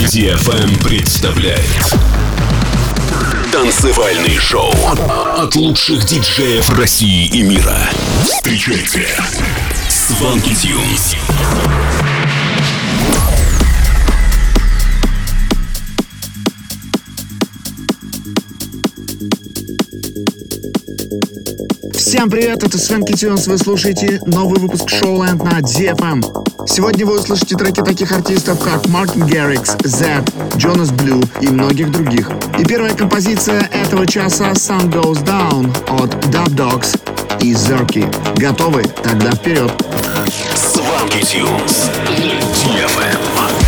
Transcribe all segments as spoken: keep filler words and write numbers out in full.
ди эф эм представляет танцевальный шоу от лучших диджеев России и мира. Встречайте Swanky Tunes. Всем привет, это Swanky Tunes, вы слушаете новый выпуск Showland на ди эф эм. Сегодня вы услышите треки таких артистов, как Мартин Гаррикс, Zedd, Jonas Blue и многих других. И первая композиция этого часа Sun Goes Down от Dub Dogs и Zerky. Готовы? Тогда вперед! Swanky Tunes на ди эф эм.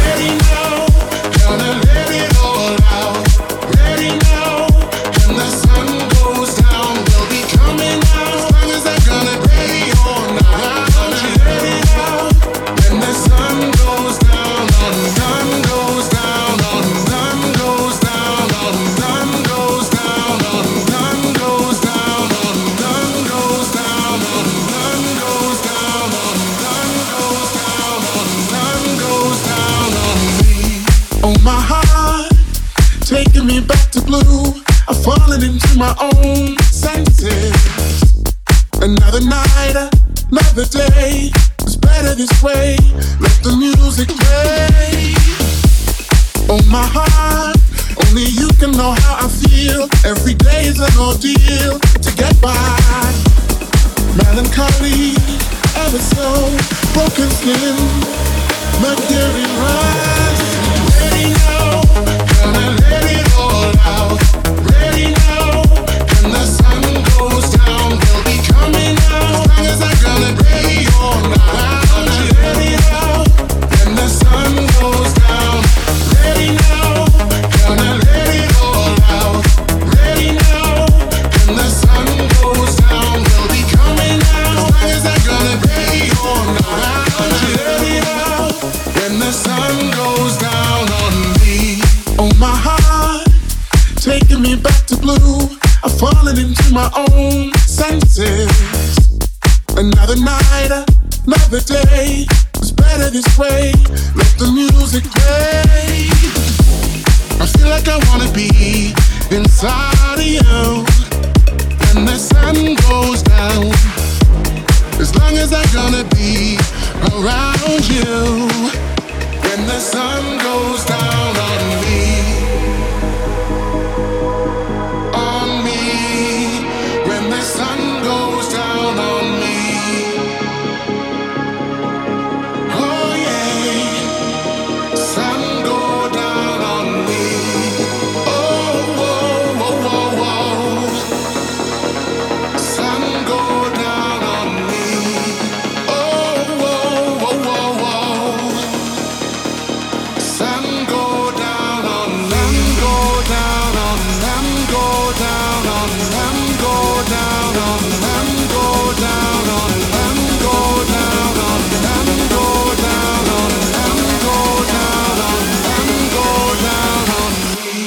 Me back to blue, I've fallen into my own senses. Another night, another day, it's better this way. Let the music play. Oh my heart, only you can know how I feel. Every day is an ordeal to get by. Melancholy, ever so broken skin, mercury rise. Ready now, gonna let it all out. Ready now, when the sun goes down, we'll be coming out. As long as I'm gonna be all night. Ready now, when the sun goes down. Ready now, gonna let it all out. Ready now, when the sun goes down, we'll be coming out. As long as I'm gonna be all night. Ready now, when the sun goes down on me. Oh my heart, taking me back to blue. I've fallen into my own senses. Another night, another day. It's better this way. Let the music play. I feel like I wanna be inside of you when the sun goes down. As long as I'm gonna be around you when the sun goes down on me. On me, when the sun goes down on me. Oh yeah, sun go down on me. Oh, whoa, whoa, whoa, whoa. Sun go down on me. Oh, whoa, whoa, whoa, whoa. Sun go down on them, go down on them, go down on them, go down on them, go down on them, go down on them, go down on them, go down on them, go down on me.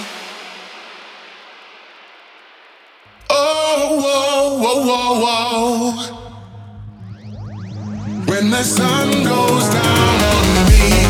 Oh, whoa, whoa, whoa, whoa. When the sun goes down on me.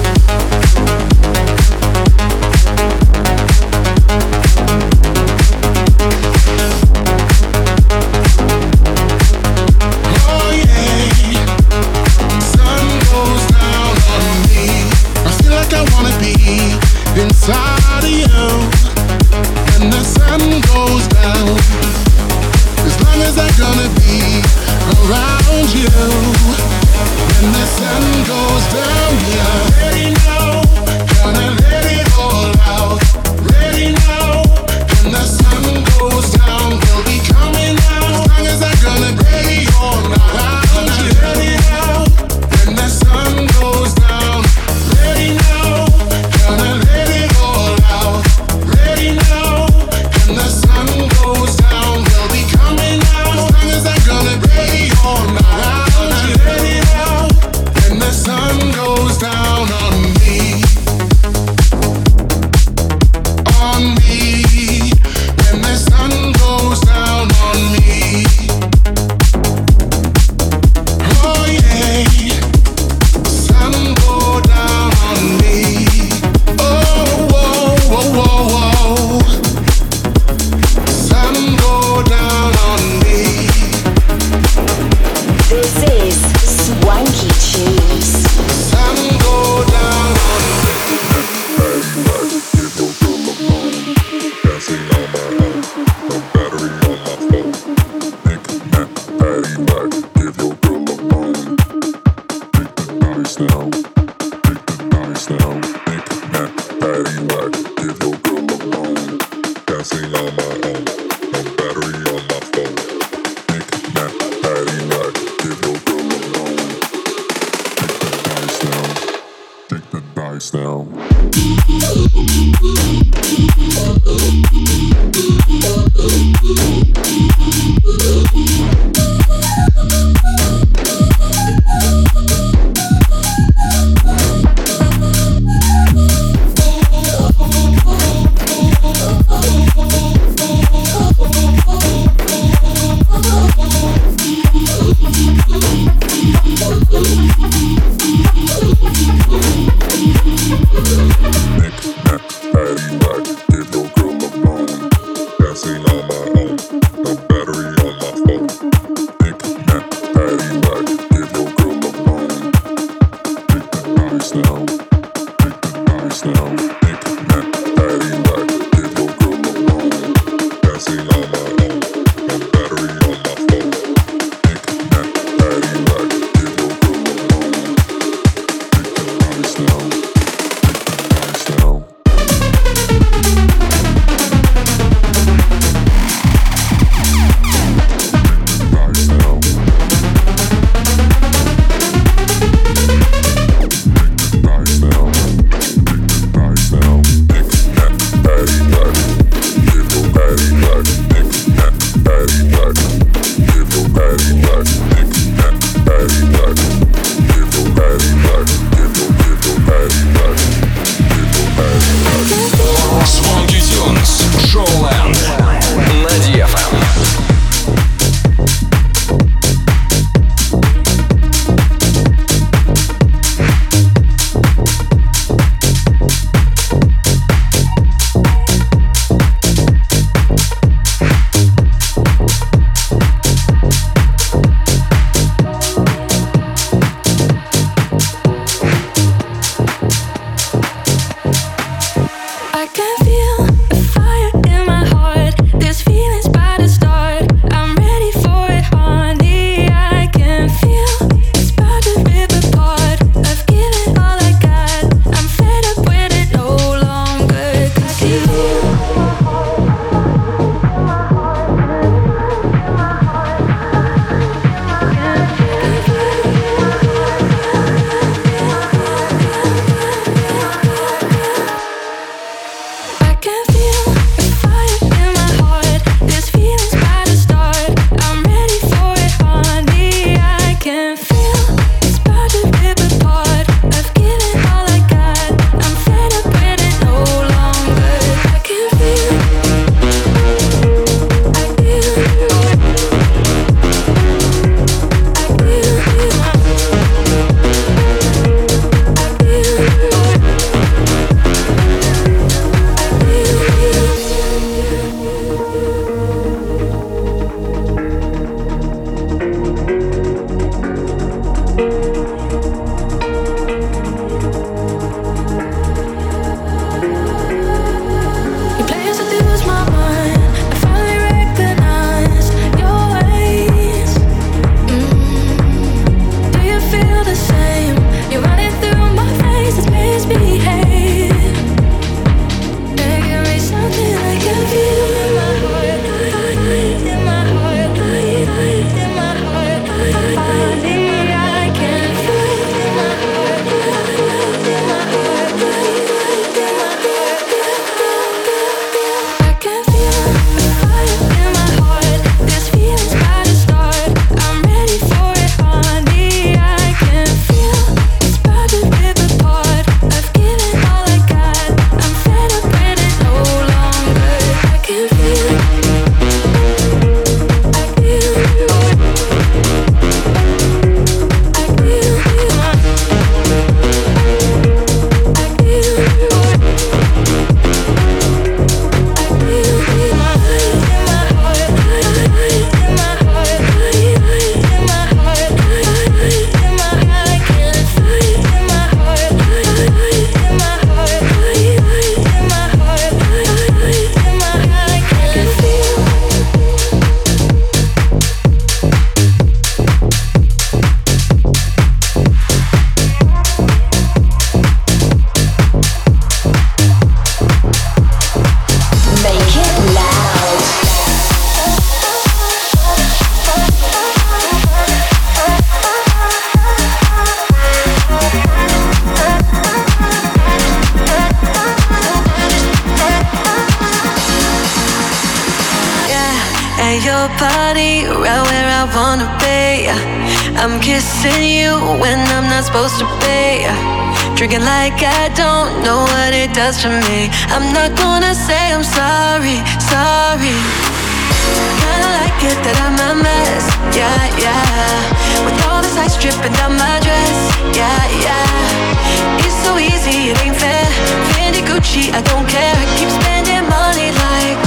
Oh yeah, sun goes down on me. I feel like I wanna be inside of you when the sun goes down. As long as I'm gonna be around you when the sun goes down, yeah. Ready now, gonna let it all out. Ready now, when the sun goes down, we'll be coming out. As long as I'm gonna be all night. Ready now, when the sun goes down. Ready now, gonna let it all out. Ready now, when the sun goes down, we'll be coming out. As long as I'm gonna be all night. Ready now, when the sun goes down on me. Give your body your body right where I wanna be. I'm kissing you when I'm not supposed to be. Drinking like I don't know what it does to me. I'm not gonna say I'm sorry, sorry. Kinda like it that I'm a mess, yeah, yeah. With all this ice dripping down my dress, yeah, yeah. It's so easy, it ain't fair. Fendi, Gucci, I don't care. I keep spending money like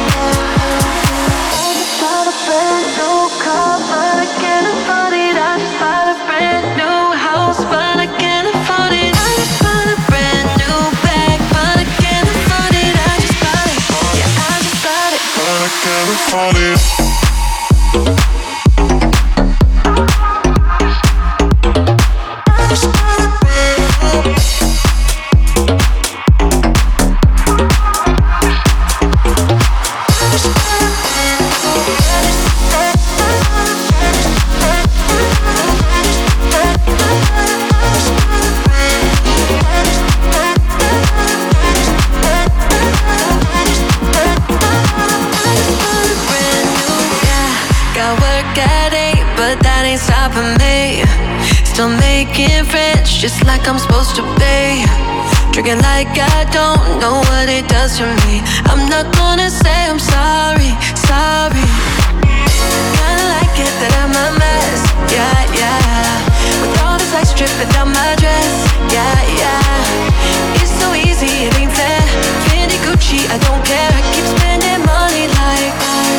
I just bought a brand new car, but I can't afford it. I just bought a brand new house, but I can't afford it. I just bought a brand new bag, but I can't afford it. I just bought it, yeah, I just bought it, but I can't afford it. stopping me. Still making friends just like I'm supposed to be. Drinking like I don't know what it does to me. I'm not gonna say I'm sorry, sorry. Kinda like it that I'm a mess, yeah, yeah. With all this ice dripping down my dress, yeah, yeah. It's so easy, it ain't fair. Fendi, Gucci, I don't care. I keep spending money like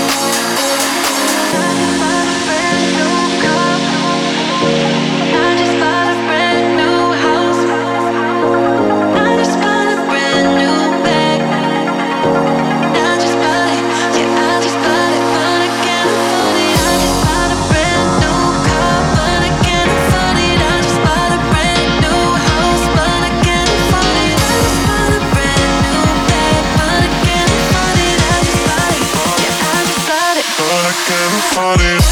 afford it.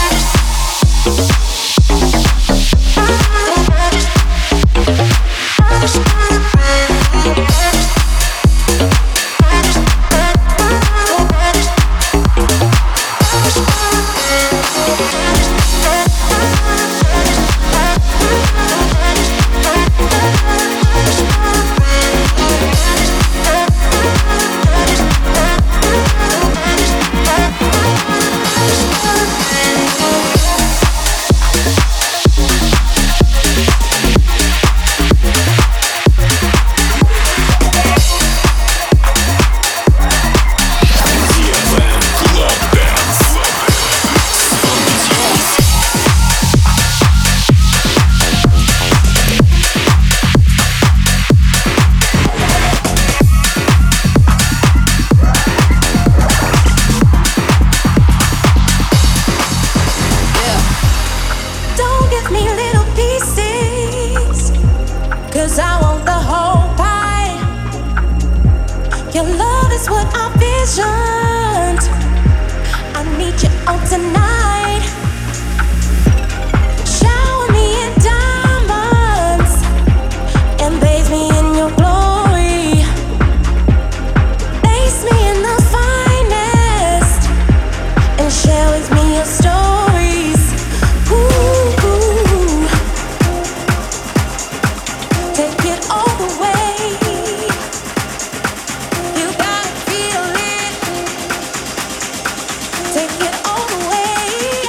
Take it all the way.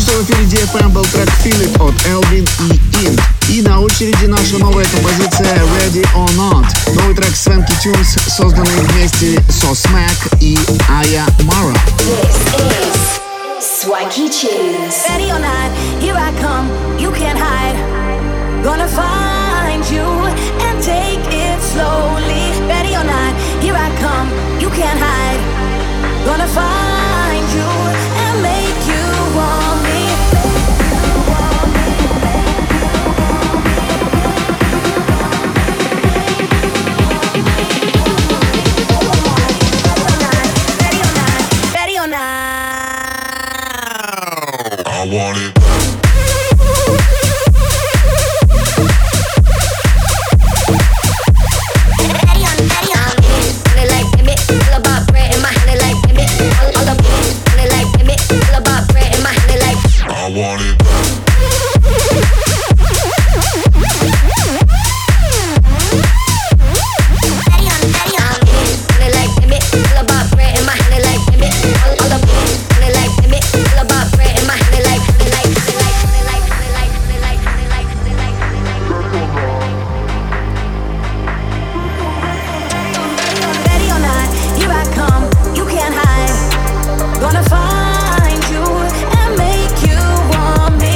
Только что в эфире ди эф эм был трек Feel It от Элвин и Ин. И на очереди наша новая композиция Ready or Not. Новый трек Swanky Tunes, созданный вместе со Smack и Aya Mara. This is Swanky Tunes. Ready or not, here I come, you can't hide. Gonna find you and take it slowly. Ready or not, here I come, you can't hide. Gonna find you and make you want me. Ready or not, ready or not. I want it. I want it. Gonna find you and make you want me.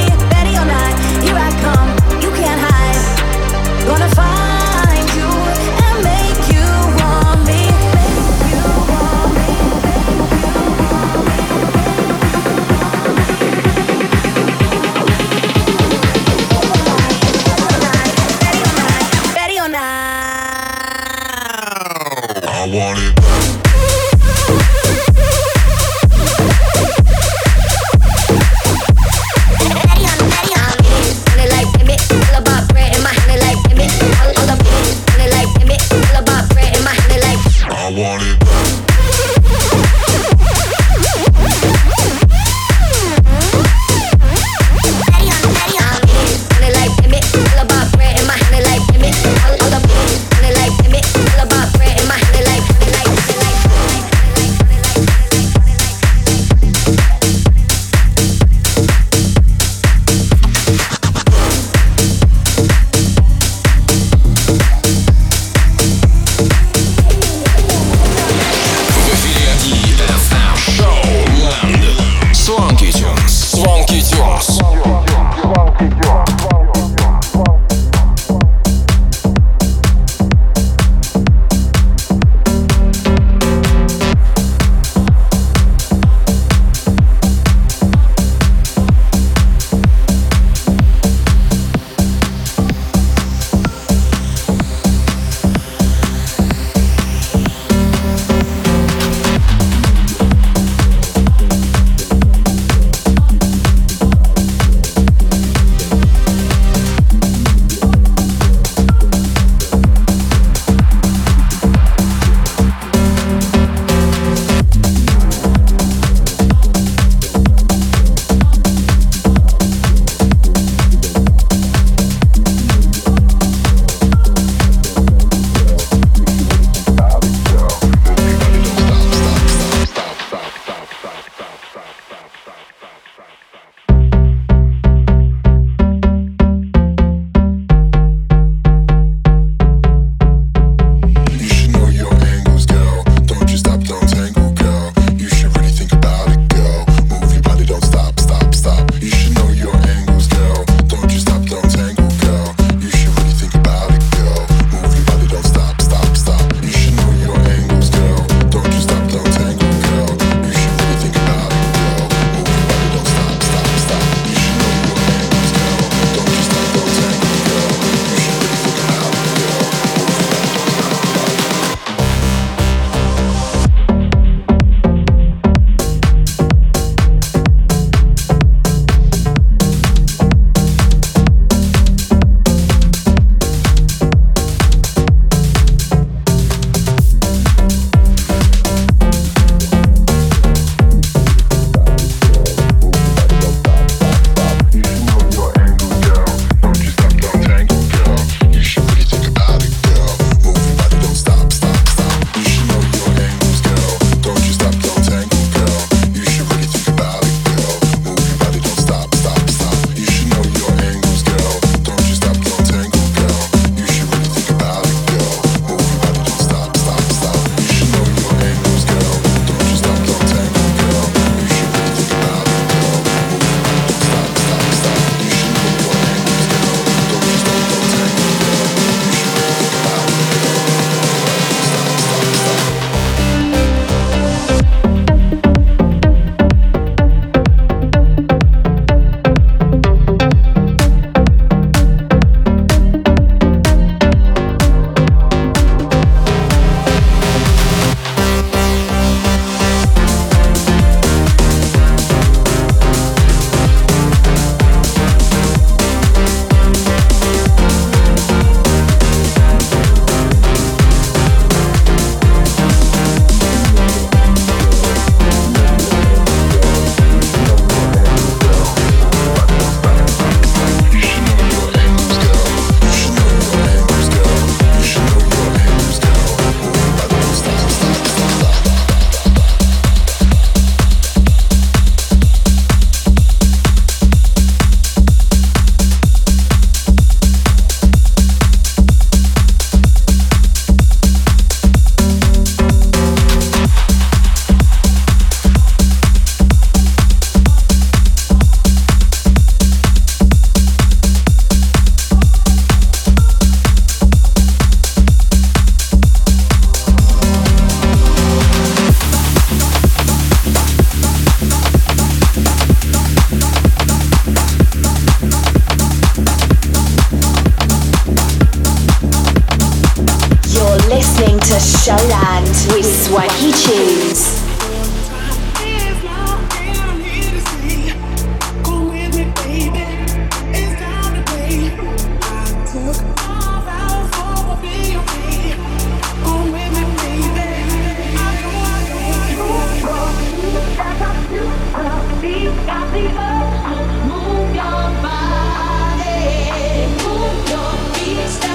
Swanky Tunes.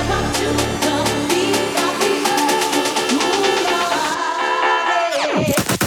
Yeah.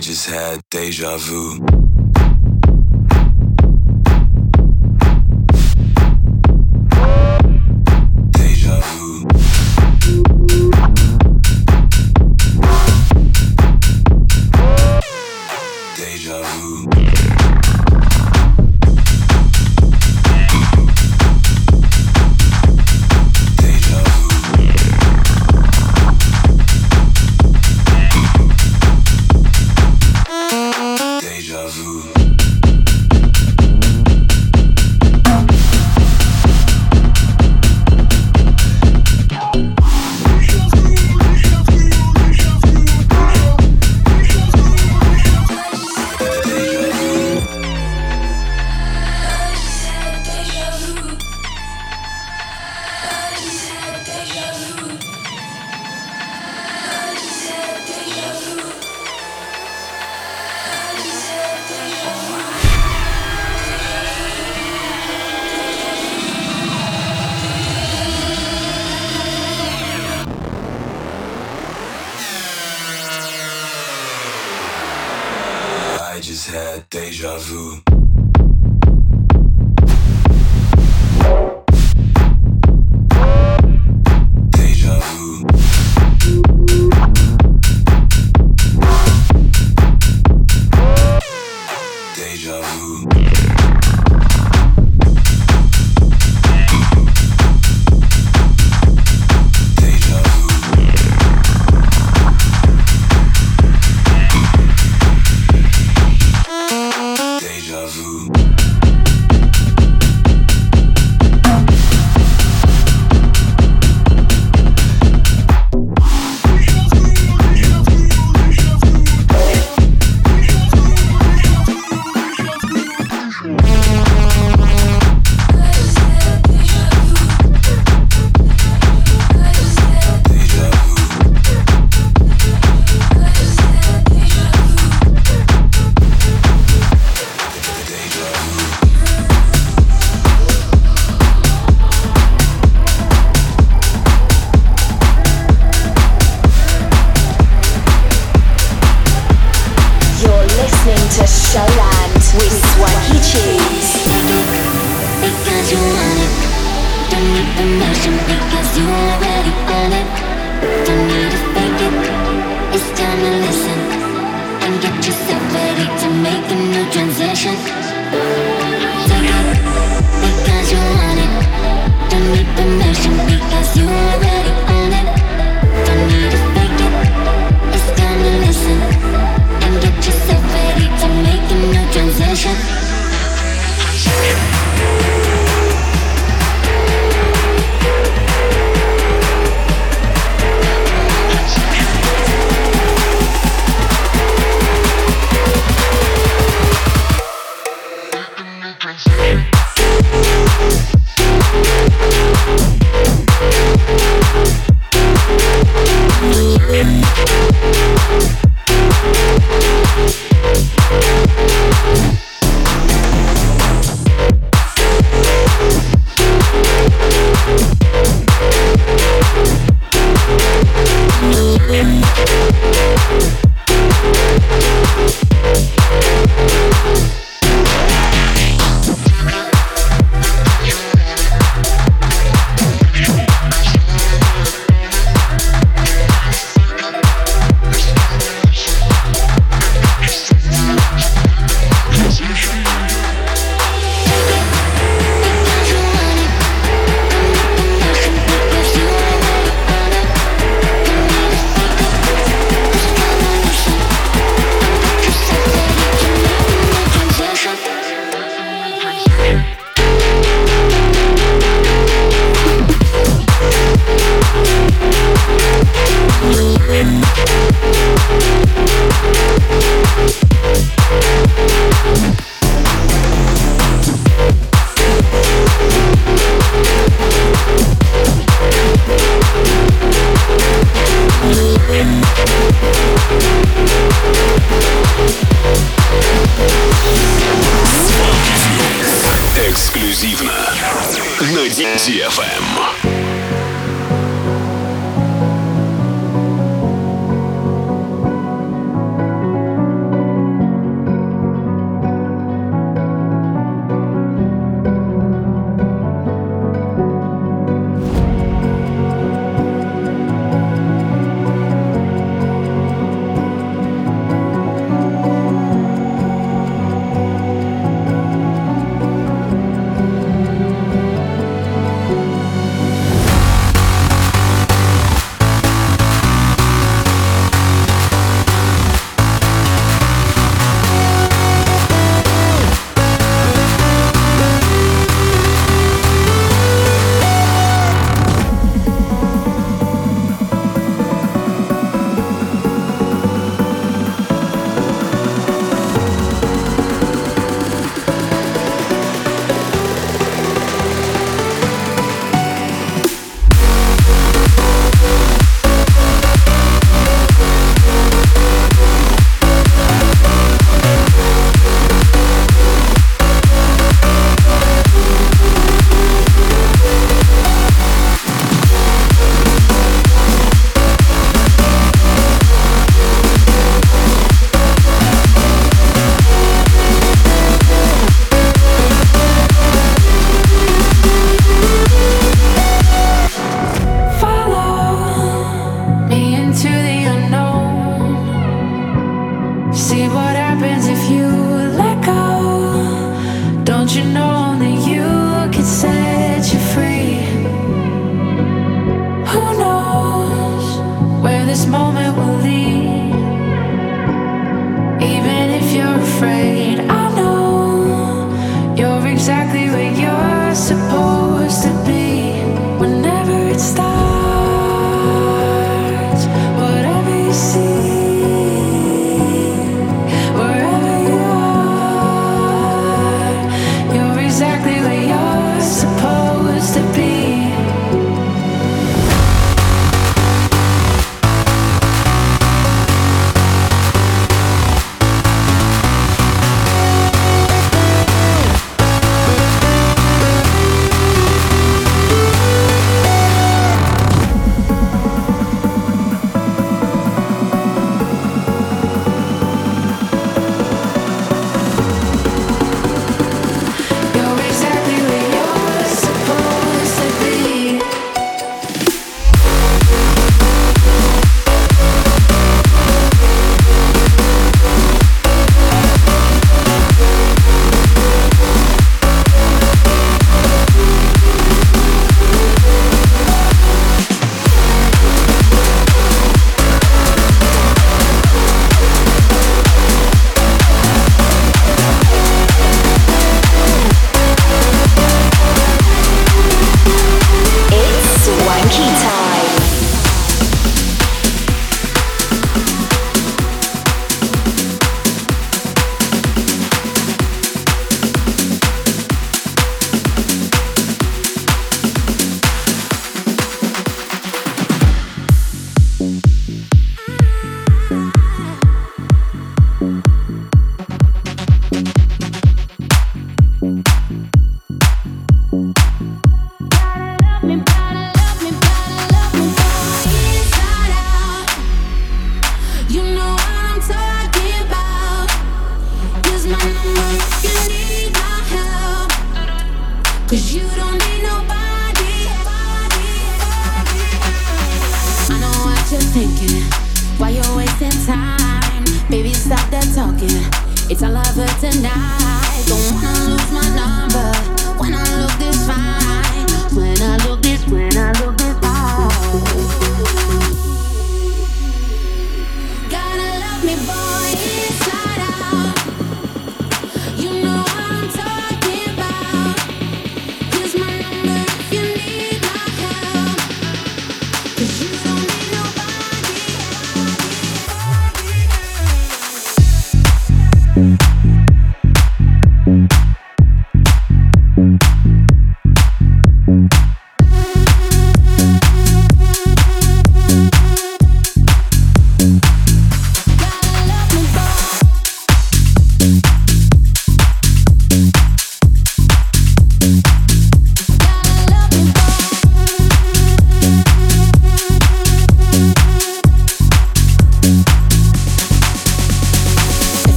just had deja vu. Deja vu. Deja vu. Deja vu. Deja vu. Deja vu.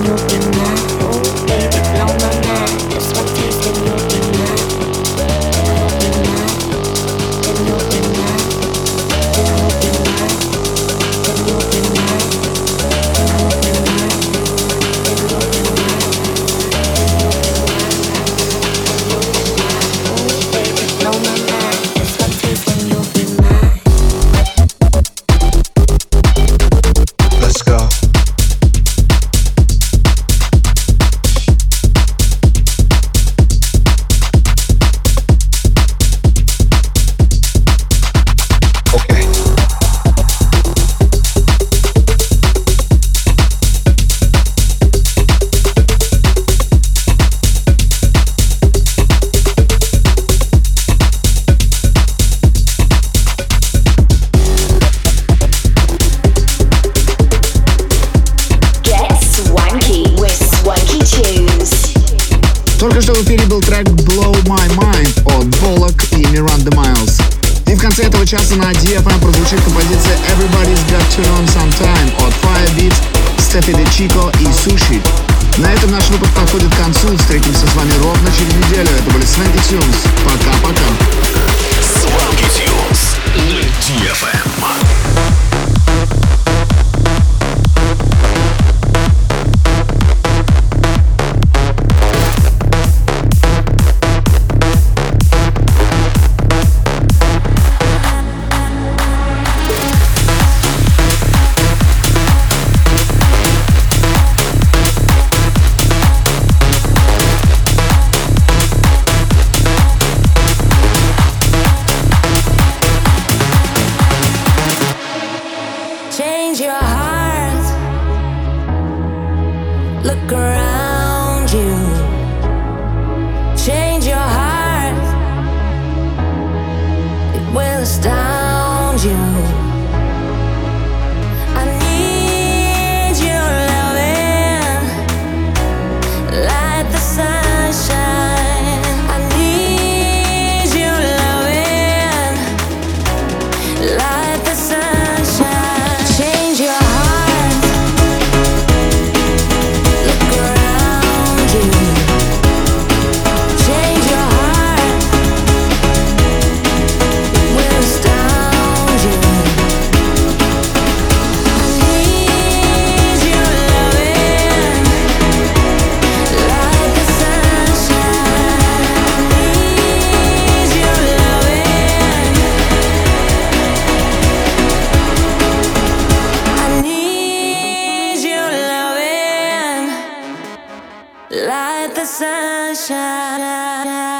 Только что в эфире был трек Blow My Mind от Bollock и Miranda Miles. И в конце этого часа на ди эф эм прозвучит композиция Everybody's Got to Learn Sometime от Firebeat, Steffi De Chico и Sushi. На этом наш выпуск подходит к концу. Встретимся с вами ровно через неделю. Это были Swanky Tunes. Пока-пока. Swanky Tunes на ди эф эм. Change your heart. Look around you. Change your heart. It will astound you. I need your loving, like the sunshine. I need your loving, like the sunshine. Change your heart. Look around you. Change your heart. It will astound you. I need your loving, like the sunshine. I need your loving. I need your loving, like the sunshine.